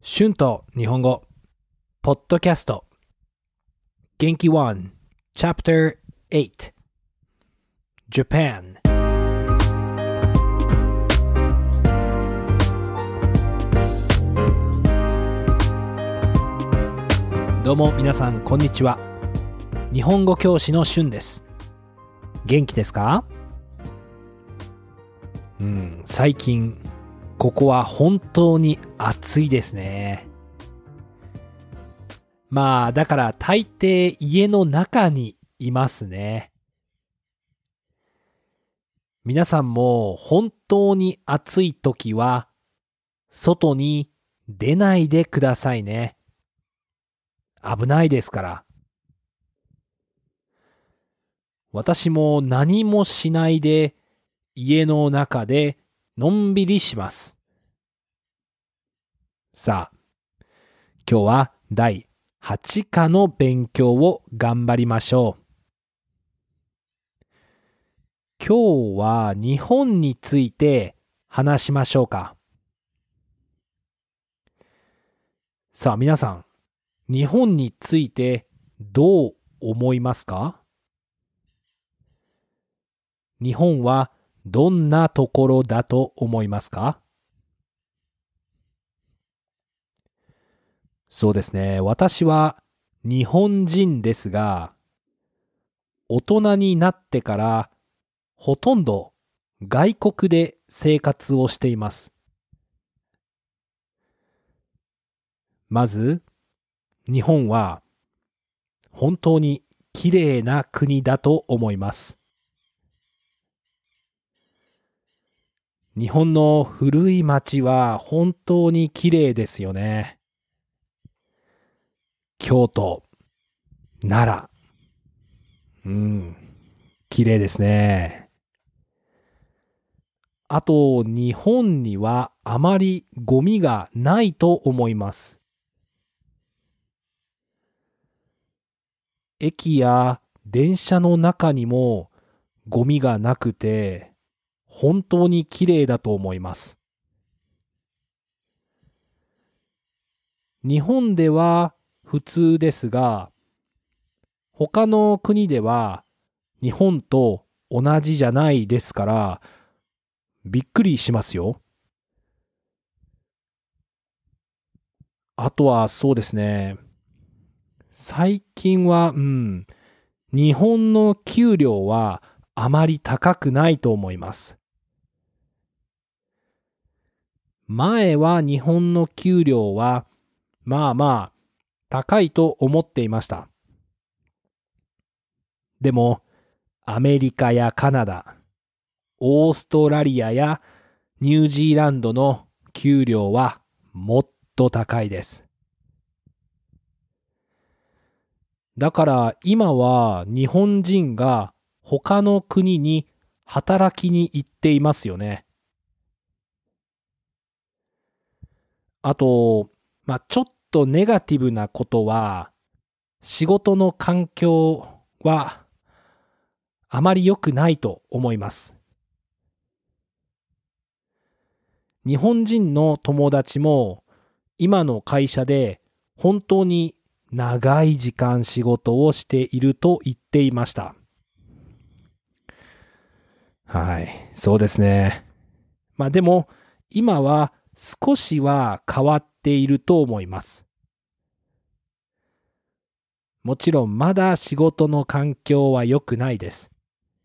春と日本語ポッドキャスト元気1 Chapter 8 Japan。 どうも皆さんこんにちは。日本語教師の春です。元気ですか？最近ここは本当に暑いですね。だから大抵家の中にいますね。皆さんも本当に暑い時は外に出ないでくださいね。危ないですから。私も何もしないで家の中でのんびりします。さあ、今日は第8課の勉強を頑張りましょう。今日は日本について話しましょうか。さあ皆さん、日本についてどう思いますか？日本はどんなところだと思いますか？そうですね。私は日本人ですが、大人になってからほとんど外国で生活をしています。まず、日本は本当にきれいな国だと思います。日本の古い町は本当にきれいですよね。京都、奈良、きれいですね。あと、日本にはあまりゴミがないと思います。駅や電車の中にもゴミがなくて、本当にきれいだと思います。日本では普通ですが、他の国では日本と同じじゃないですから、びっくりしますよ。あとはそうですね。最近は、日本の給料はあまり高くないと思います。前は日本の給料は高いと思っていました。でもアメリカやカナダ、オーストラリアやニュージーランドの給料はもっと高いです。だから今は日本人が他の国に働きに行っていますよね。あと、ちょっとネガティブなことは、仕事の環境はあまり良くないと思います。日本人の友達も今の会社で本当に長い時間仕事をしていると言っていました。はい、そうですね。でも今は少しは変わっていると思います。もちろんまだ仕事の環境は良くないです。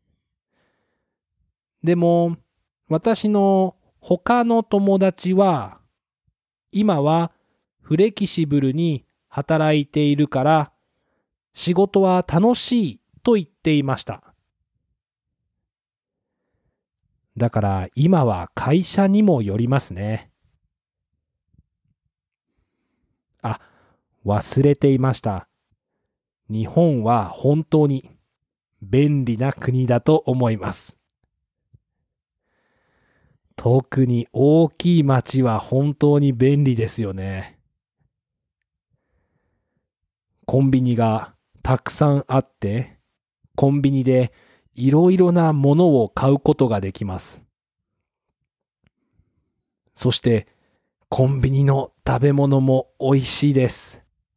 でも私の他の友達は今はフレキシブルに働いているから仕事は楽しいと言っていました。だから今は会社にもよりますね。忘れていました。日本は本当に便利な国だと思います。特に大きい町は本当に便利ですよね。コンビニがたくさんあって、コンビニでいろいろなものを買うことができます。そしてコンビニの食べ物も美味しいです。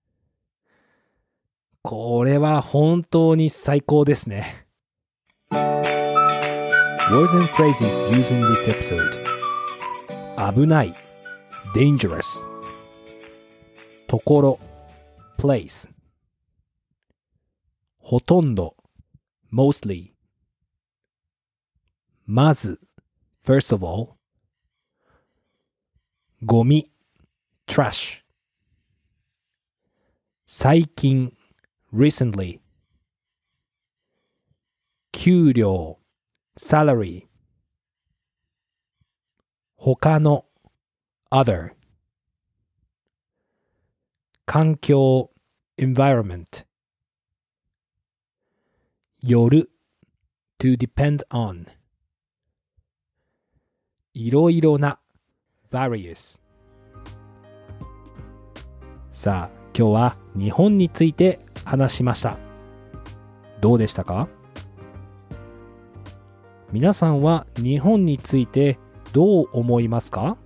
これは本当に最高ですね。Words and phrases used in this episode. 危ない dangerous ところ place ほとんど mostly まず first of all ゴミ trash 最近 recently 給料 salary 他の other 環境 environment よる to depend on いろいろな various さあ今日は日本について話しました。どうでしたか？皆さんは日本についてどう思いますか？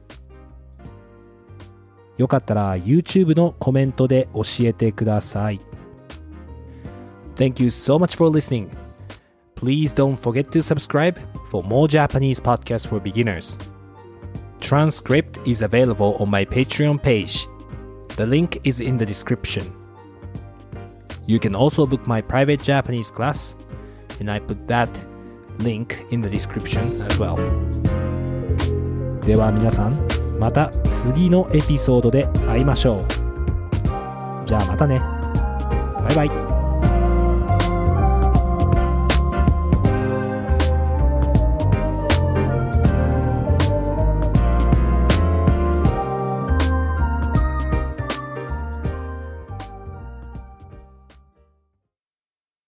よかったら YouTube のコメントで教えてください。Thank you so much for listening. Please don't forget to subscribe for more Japanese podcasts for beginners. Transcript is available on my Patreon page. The link is in the description. You can also book my private Japanese class, and I put that link in the description as well. では皆さん、また次のエピソードで会いましょう。じゃあまたね。バイバイ。